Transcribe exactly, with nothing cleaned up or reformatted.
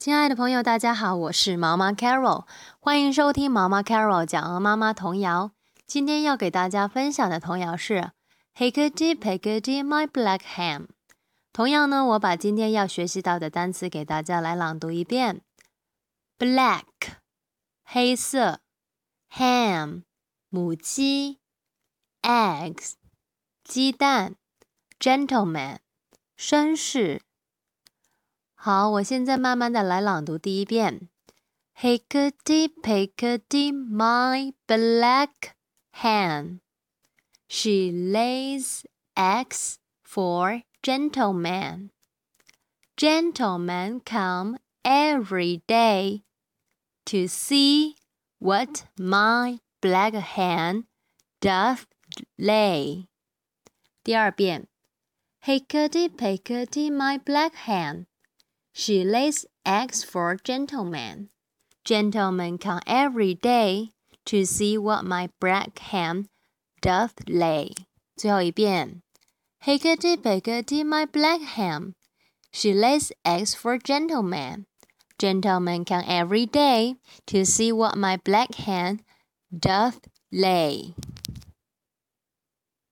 亲爱的朋友，大家好，我是毛妈 Carol， 欢迎收听毛妈 Carol 讲鹅妈妈童谣。今天要给大家分享的童谣是 Hickety Pickety My Black Ham。同样呢，我把今天要学习到的单词给大家来朗读一遍。Black 黑色 Ham 母鸡 Eggs 鸡蛋 Gentleman 绅士。好，我现在慢慢的来朗读第一遍。Hickety pickety my black hen. She lays eggs for gentlemen. Gentlemen come every day to see what my black hen doth lay. 第二遍。Hickety pickety my black hen.She lays eggs for gentlemen. Gentlemen come every day to see what my black hen doth lay. 最后一遍 Hickety pickety my black hen. She lays eggs for gentlemen. Gentlemen come every day to see what my black hen doth lay.